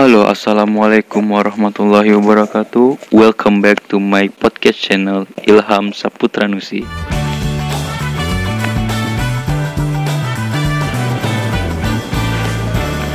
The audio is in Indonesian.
Halo, assalamualaikum warahmatullahi wabarakatuh. Welcome back to my podcast channel Ilham Saputra Nusi.